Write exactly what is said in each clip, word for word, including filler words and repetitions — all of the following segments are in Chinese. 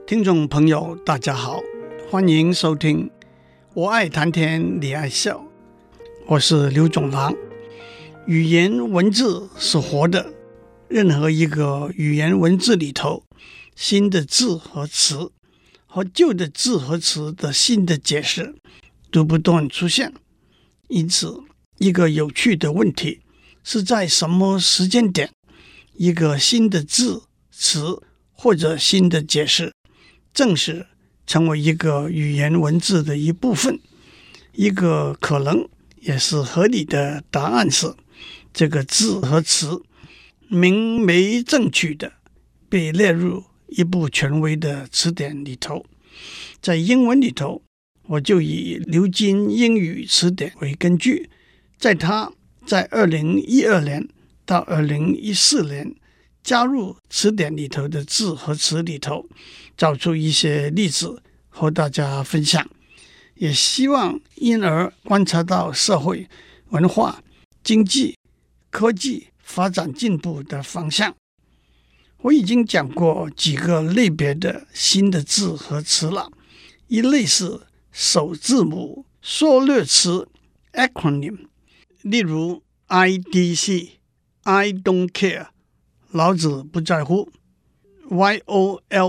聽眾朋友大家好，歡迎收聽我愛談天你愛笑，我是劉總郎。語言文字是活的，任何一個語言文字裡頭，新的字和詞和舊的字和詞的新的解釋都不斷出現。因此，一個有趣的問題是在什麼時間點，一個新的字、詞或者新的解釋正式成為一個語言文字的一部分。一個可能也是合理的答案是，這個字和詞明媒正娶的被列入一部權威的詞典裡頭。在英文裡頭，我就以牛津英語詞典為根據，在它在二零一二年到二零一四年加入詞典裡頭的字和詞裡頭，找出一些例子和大家分享，也希望因而觀察到社會、文化、經濟、科技發展進步的方向。我已經講過幾個類別的新的字和詞了，一類是首字母縮略詞 acronym， 例如 I D C、I don't care， 老子不在乎 ，Y O L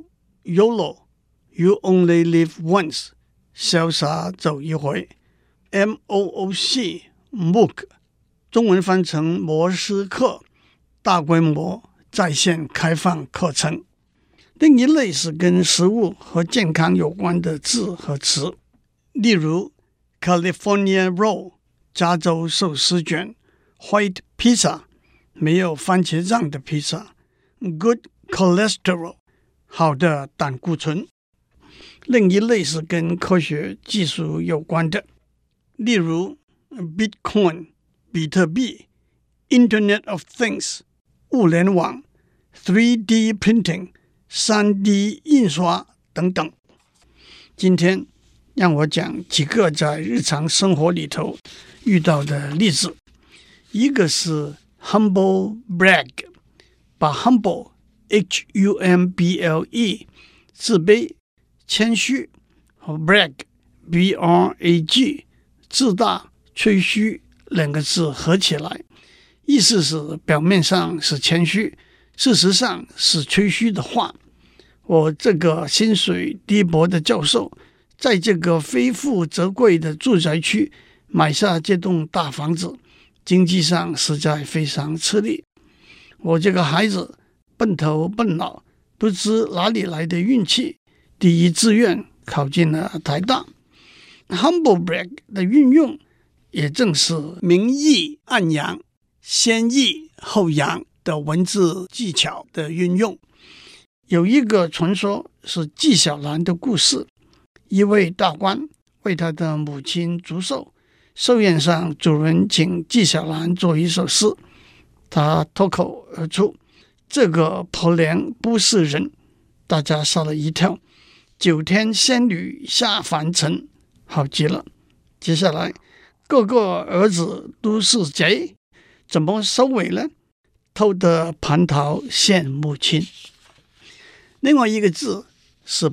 O、YOLO、You only live once， 瀟灑走一回 ，M O O C、MOOC， 中文翻成摩斯課，大規模在線開放課程。另一類是跟食物和健康有關的字和詞，例如 California Roll， 加州壽司卷 ，White Pizza， 沒有番茄醬的披薩 ，Good Cholesterol， 好的膽固醇。另一類是跟科學技術有關的，例如 Bitcoin， 比特幣 ，Internet of Things， 物聯網 ，三 D Printing， 三 D 印刷等等。今天讓我講幾個在日常生活裡頭遇到的例子。一個是 humble brag， 把 humble H U M B L E 自卑、謙虛和 brag B R A G 自大、吹噓兩個字合起來，意思是表面上是謙虛，事實上是吹噓的話。我這個薪水低薄的教授，在這個非富則貴的住宅區買下這棟大房子，經濟上實在非常吃力。我這個孩子笨頭笨腦，不知哪裡來的運氣，第一志願考進了台大。Humble brag 的運用，也正是明抑暗揚、先抑後揚的文字技巧的運用。有一個傳說是紀曉岚的故事，一位大官為他的母親祝壽，壽宴上主人請紀曉岚做一首詩，他脫口而出：“這個婆娘不是人。”大家嚇了一跳。九天仙女下凡塵，好極了。接下來，個個兒子都是賊，怎麼收尾呢？偷得蟠桃獻母親。另外一個字是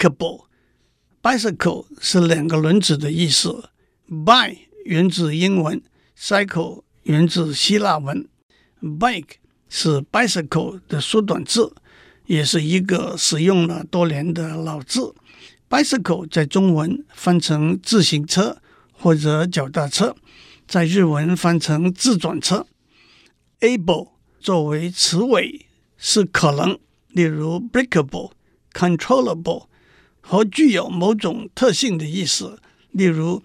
bikeable，bicycle 是兩個輪子的意思 ，bi 源自英文 ，cycle 源自希臘文 ，bike 是 bicycle 的縮短字，也是一個使用了多年的老字。bicycle 在中文翻成自行車或者腳踏車，在日文翻成自轉車。able 作為詞尾是可能。例如 breakable、controllable 和具有某種特性的意思，例如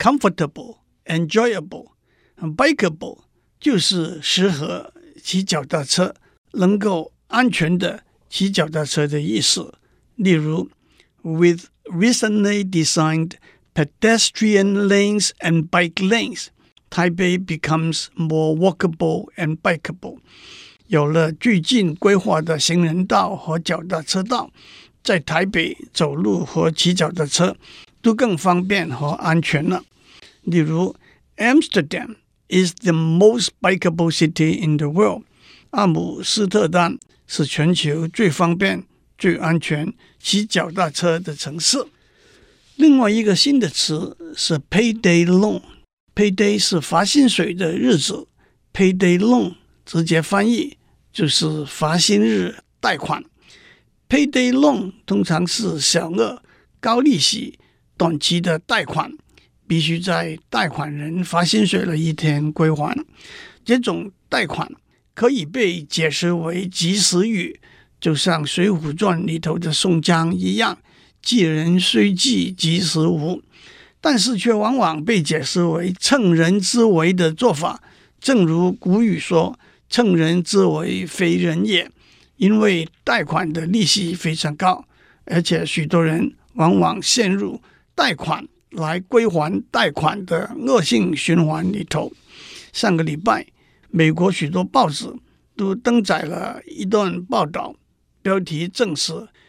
comfortable、enjoyable。bikeable 就是適合騎腳踏車，能夠安全的騎腳踏車的意思。例如 with recently designed pedestrian lanes and bike lanes, Taipei becomes more walkable and bikeable。有了最近規劃的行人道和腳踏車道，在台北走路和騎腳踏車都更方便和安全了。例如 Amsterdam is the most bikeable city in the world。阿姆斯特丹是全球最方便、 最安全騎腳踏車的城市。另外一個新的詞是 payday loan。payday 是發薪水的日子， payday loan 直接翻譯就是發薪日貸款。payday loan 通常是小額、高利息、短期的貸款，必須在貸款人發薪水的一天歸還。這種貸款可以被解釋為及時雨，就像《水滸傳》裡頭的宋江一樣，濟人雖濟及時雨，但是卻往往被解釋為趁人之危的做法。正如古語說，趁人之危非人也。因為貸款的利息非常高，而且許多人往往陷入貸款來歸還貸款的惡性循環裡頭。上個禮拜，美國許多報紙都登載了一段報道，標題正是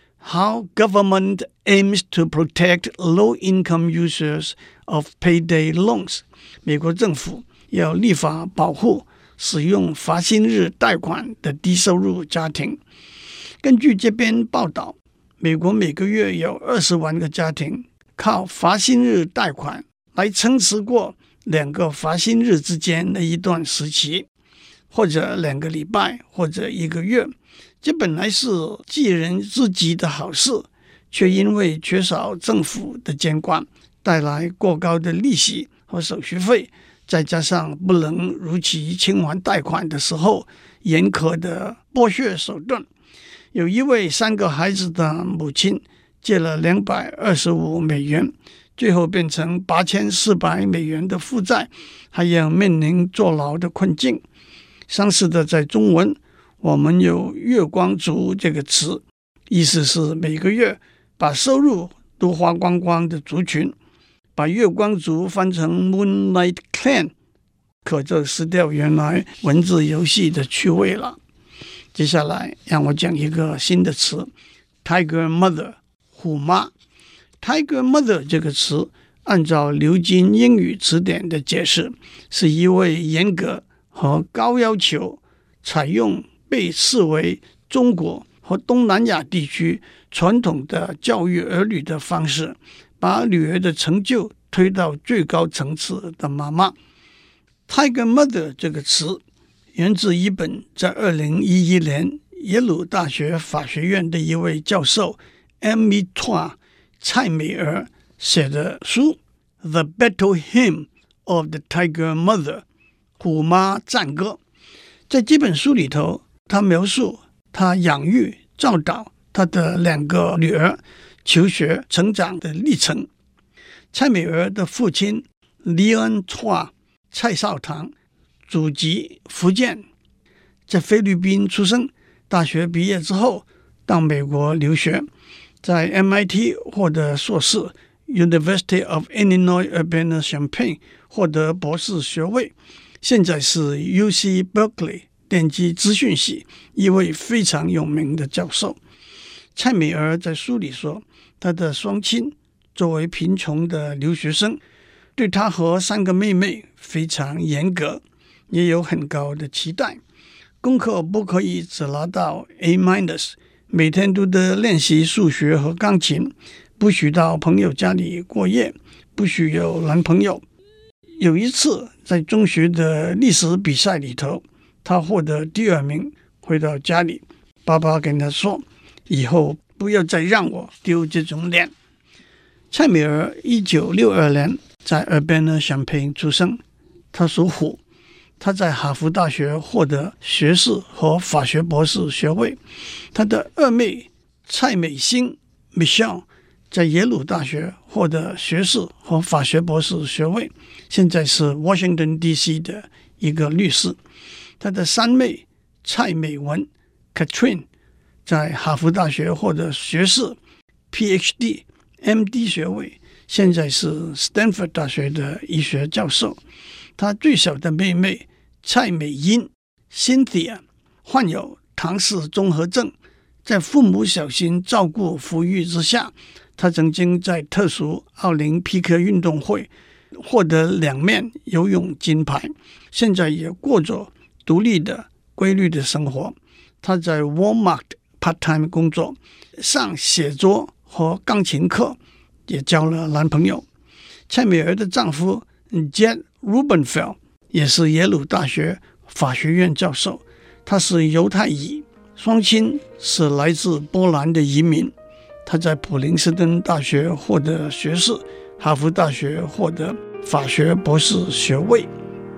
How Government Aims to Protect Low-Income Users of Payday Loans。 美國政府要立法保護使用發薪日貸款的低收入家庭。根據這篇報道，美國每個月有二十萬個家庭靠發薪日貸款來撐持過兩個發薪日之間的一段時期，或者兩個禮拜，或者一個月。這本來是濟人之急的好事，卻因為缺少政府的監管，帶來過高的利息和手續費，再加上不能如期清還貸款的時候嚴苛的剝削手段。有一位三個孩子的母親借了兩百二十五美元，最後變成八千四百美元的負債，還要面臨坐牢的困境。相似的，在中文我們有月光族這個詞，意思是每個月把收入都花光光的族群。把月光族翻成 Moonlight Clan， 可就失掉原來文字遊戲的趣味了。接下來讓我講一個新的詞 Tiger Mother， 虎媽。 Tiger Mother 這個詞按照牛津英語詞典的解釋，是一位嚴格和高要求，採用被視為中國和東南亞地區傳統的教育兒女的方式，把女兒的成就推到最高層次的媽媽。 Tiger Mother 這個詞源自一本在二零一一年耶魯大學法學院的一位教授 Amy Chua 蔡美兒寫的書 The Battle Hymn of the Tiger Mother， 虎媽戰歌。在這本書裡頭，他描述他養育教導他的兩個女兒求學成長的歷程。蔡美兒的父親 Leon Chua 蔡少棠，祖籍福建，在菲律賓出生，大學畢業之後到美國留學，在 M I T 獲得碩士， University of Illinois Urbana-Champaign 獲得博士學位，現在是 U C Berkeley 電機資訊系一位非常有名的教授。蔡美兒在書裡說，她的雙親作為貧窮的留學生，對她和三個妹妹非常嚴格，也有很高的期待。功課不可以只拿到 A minus， 每天都得練習數學和鋼琴，不許到朋友家裡過夜，不許有男朋友。有一次在中學的歷史比賽裡頭，她獲得第二名，回到家裡，爸爸跟她說，以後不要再讓我丟這種臉。蔡美兒一九六二年在 Urbana-Champaign 出生，她屬虎。她在哈佛大學獲得學士和法學博士學位。她的二妹蔡美欣 Michelle 在耶魯大學獲得學士和法學博士學位，現在是 Washington D C 的一個律師。她的三妹蔡美文 Catherine 在哈佛大學獲得學士、P H D、M D 學位，現在是 Stanford 大學的醫學教授。她最小的妹妹蔡美英 Cynthia 患有唐氏綜合症，在父母小心照顧撫育之下，她曾經在特殊奧林匹克運動會獲得兩面游泳金牌，現在也過着獨立的規律的生活。她在 Walmart part-time 工作，上寫作和鋼琴課，也交了男朋友。蔡美兒的丈夫 Jed Rubenfeld 也是耶魯大學法學院教授，他是猶太裔，雙親是來自波蘭的移民。他在普林斯頓大學獲得學士，哈佛大學獲得法學博士學位。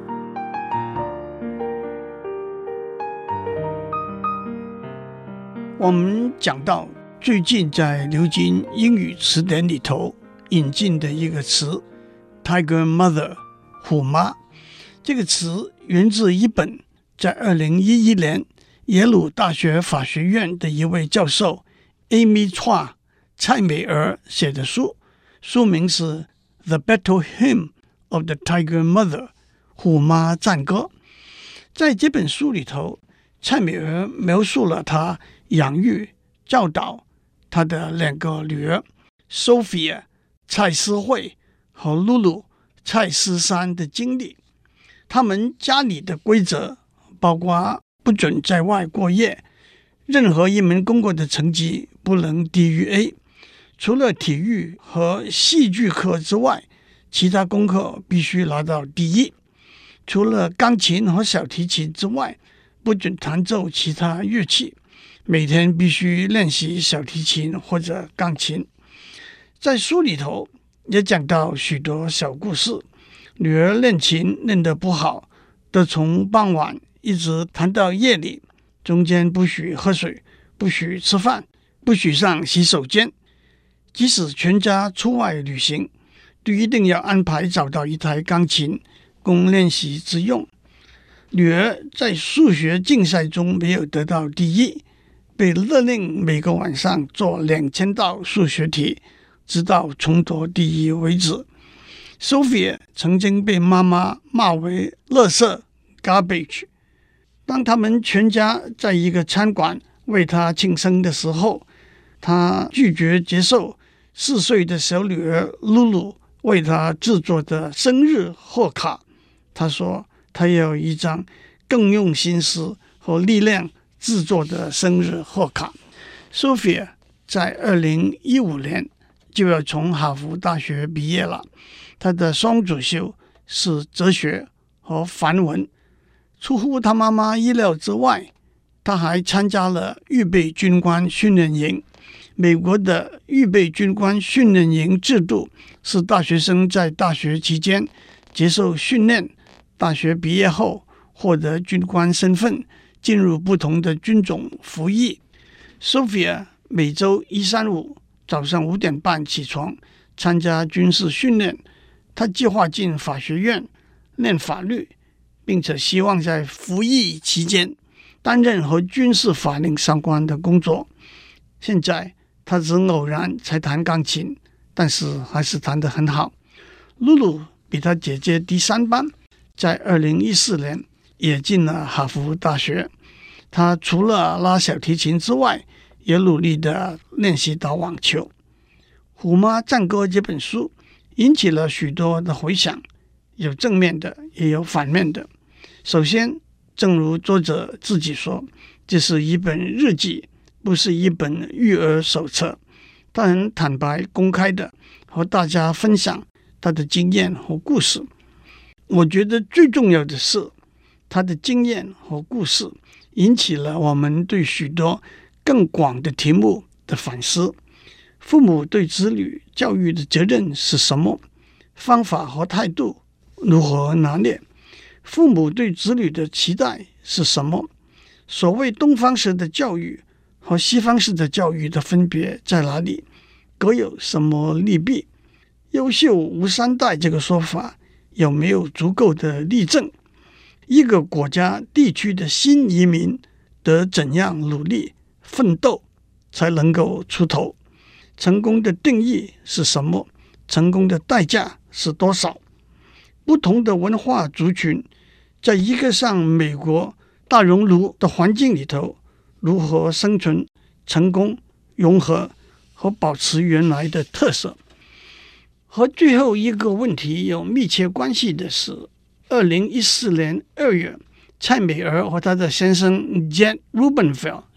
我們講到最近在牛津英語詞典裡頭引進的一個詞 Tiger Mother 虎媽，這個詞源自一本在二零一一年耶魯大學法學院的一位教授 Amy Chua 蔡美兒寫的書，書名是 The Battle Hymn of the Tiger Mother 虎媽戰歌。在這本書裡頭，蔡美兒描述了她養育、教導她的兩個女兒 Sophia 蔡思慧和露露蔡思珊的經歷。他們家裡的規則包括不准在外過夜，任何一門功課的成績不能低於 A， 除了體育和戲劇課之外，其他功課必須拿到第一。除了鋼琴和小提琴之外，不准彈奏其他樂器，每天必須練習小提琴或者鋼琴。在書裡頭也講到許多小故事，女兒練琴練得不好，都從傍晚一直彈到夜裡，中間不許喝水，不許吃飯，不許上洗手間。即使全家出外旅行，都一定要安排找到一台鋼琴供練習之用。女兒在數學競賽中沒有得到第一，被勒令每個晚上做兩千道數學題，直到重奪第一為止。Sophia 曾經被媽媽罵為垃圾 garbage。當他們全家在一個餐館為她慶生的時候，她拒絕接受四歲的小女兒露露為她製作的生日賀卡。她說她要一張更用心思和力量製作的生日賀卡。Sophia 在二零一五年就要從哈佛大學畢業了，她的雙主修是哲學和梵文。出乎她媽媽意料之外，她還參加了預備軍官訓練營。美國的預備軍官訓練營制度是大學生在大學期間接受訓練，大學畢業後獲得軍官身份，進入不同的軍種服役。Sophia 每周一、三、五早上五點半起床參加軍事訓練。她計劃進法學院念法律，並且希望在服役期間擔任和軍事法令相關的工作。現在他只偶然才彈鋼琴，但是還是彈得很好。露露比他姐姐低三班，在二零一四年也進了哈佛大學。他除了拉小提琴之外，也努力地練習打網球。《虎媽戰歌》這本書引起了許多的回響，有正面的，也有反面的。首先，正如作者自己說，這是一本日記，不是一本育兒手冊。他很坦白、公開的和大家分享他的經驗和故事。我覺得最重要的是，他的經驗和故事引起了我們對許多更廣的題目的反思。父母對子女教育的責任是什麼？方法和態度如何拿捏？父母對子女的期待是什麼？所謂東方式的教育和西方式的教育的分別在哪裡？各有什麼利弊？優秀無三代這個說法有沒有足夠的例證？一個國家地區的新移民得怎樣努力奮鬥才能夠出頭？成功的定義是什麼？成功的代價是多少？不同的文化族群在一個像美國大熔爐的環境裡頭，如何生存、成功、融合和保持原來的特色？和最後一個問題有密切關係的是，二零一四年二月，蔡美兒和她的先生 Jed Rubenfeld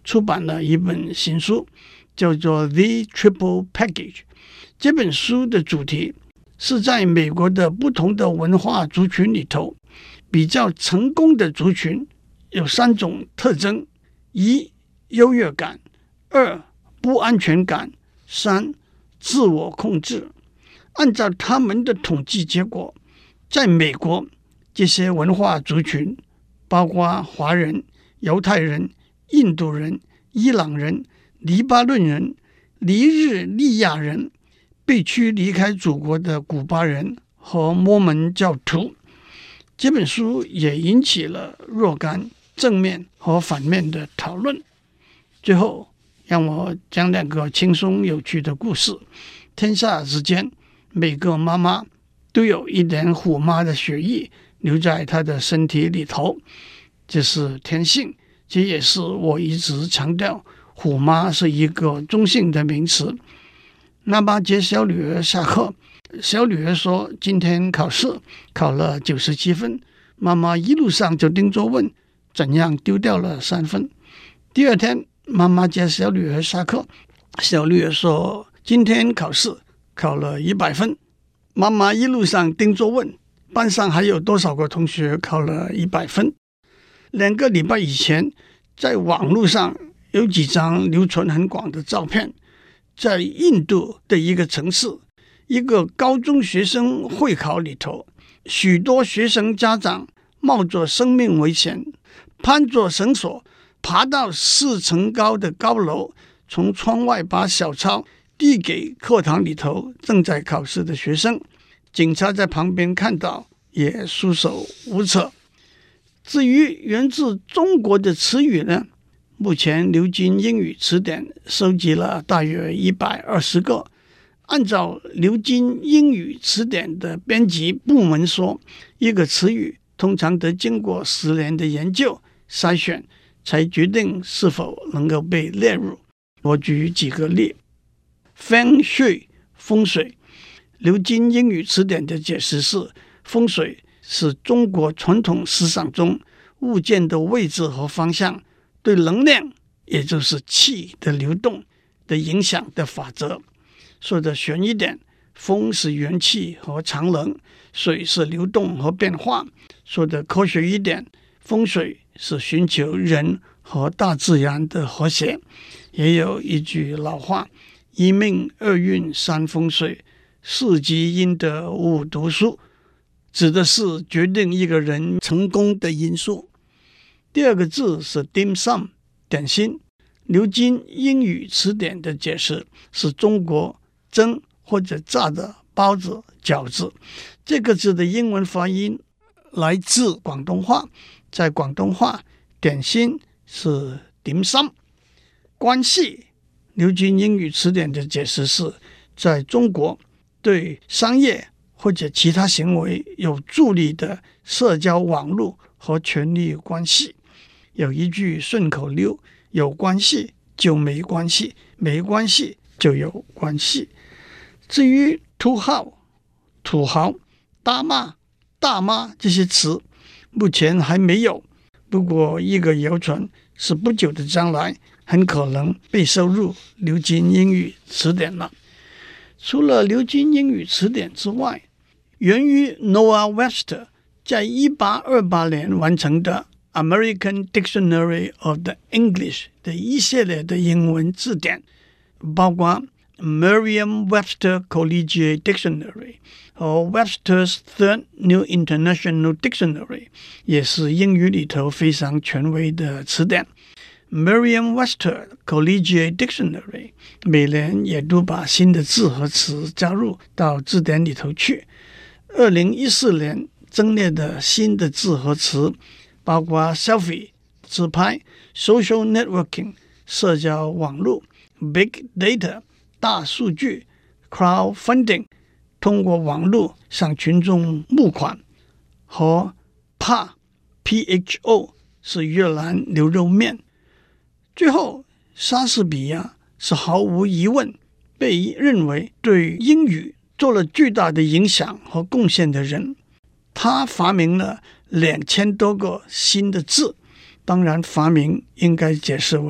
出版了一本新書，叫做《The Triple Package》。這本書的主題是在美國的不同的文化族群裡頭，比較成功的族群有三種特徵：一、優越感；二、不安全感；三、自我控制。按照他們的統計結果，在美國，這些文化族群包括華人、猶太人、印度人、伊朗人、黎巴嫩人、尼日利亞人、被驅離開祖國的古巴人和摩門教徒。這本書也引起了若干正面和反面的討論。最後，讓我講兩個輕鬆有趣的故事。天下之間，每個媽媽都有一點虎媽的血液留在她的身體裡頭，這是天性。這也是我一直強調，虎媽是一個中性的名詞。媽媽接小女兒下課，小女兒說今天考試考了九十七分，媽媽一路上就盯着問怎樣丟掉了三分。第二天，媽媽接小女兒下課，小女兒說今天考試考了一百分，媽媽一路上盯着問班上還有多少個同學考了一百分。兩個禮拜以前，在網絡上有幾張流傳很廣的照片，在印度的一個城市，一個高中學生會考裡頭，許多學生家長冒着生命危險，攀着繩索爬到四層高的高樓，從窗外把小抄遞給課堂裡頭正在考試的學生。警察在旁邊看到，也束手無策。至於源自中國的詞語呢，目前牛津英語詞典收集了大約一百二十個。按照牛津英語詞典的編輯部門說，一個詞語通常得經過十年的研究篩選，才決定是否能夠被列入。我舉幾個例。Feng Shui 風水，牛津英語詞典的解釋是，風水是中國傳統思想中物件的位置和方向對能量，也就是氣的流動的影響的法則。說的玄一點，風是元氣和常能，水是流動和變化。說的科學一點，風水是尋求人和大自然的和諧。也有一句老話，一命二運三風水，四積陰德五讀書，指的是決定一個人成功的因素。第二個字是 dim sum 點心，牛津英語詞典的解釋是中國蒸或者炸的包子、餃子。這個字的英文發音來自廣東話，在廣東話點心是 dim sum。關係，牛津英語詞典的解釋是在中國對商業或者其他行為有助力的社交網絡和權力關係。有一句順口溜，有關係就沒關係，沒關係就有關係。至於土豪、土豪、大媽、大媽這些詞，目前還沒有。不過一個謠傳是不久的將來很可能被收入牛津英語詞典了。除了牛津英語詞典之外，源於 Noah Webster 在一八二八年完成的 American Dictionary of the English 的一系列的英文字典，包括 Merriam-Webster Collegiate Dictionary 和 Webster's Third New International Dictionary， 也是英語裡頭非常權威的詞典。Merriam-Webster Collegiate Dictionary 每年也都把新的字和詞加入到字典裡頭去。二零一四年增列的新的字和詞包括 selfie 自拍、social networking 社交網絡、big data 大數據、crowdfunding 通過網絡向群眾募款，和 P H O P H O 是越南牛肉麵。最後，莎士比亞是毫無疑問被認為對英語做了巨大的影響和貢獻的人。他發明了兩千多個新的字，當然發明應該解釋為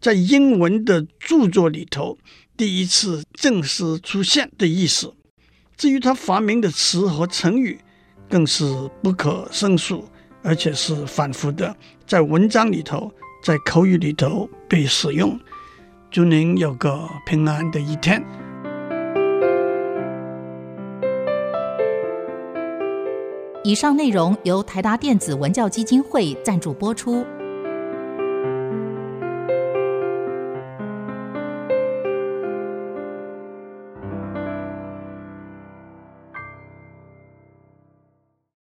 在英文的著作裡頭第一次正式出現的意思。至於他發明的詞和成語，更是不可勝數，而且是反覆的在文章裡頭，在口語裡頭被使用。祝您有個平安的一天。 以上內容由台達電子文教基金會贊助播出。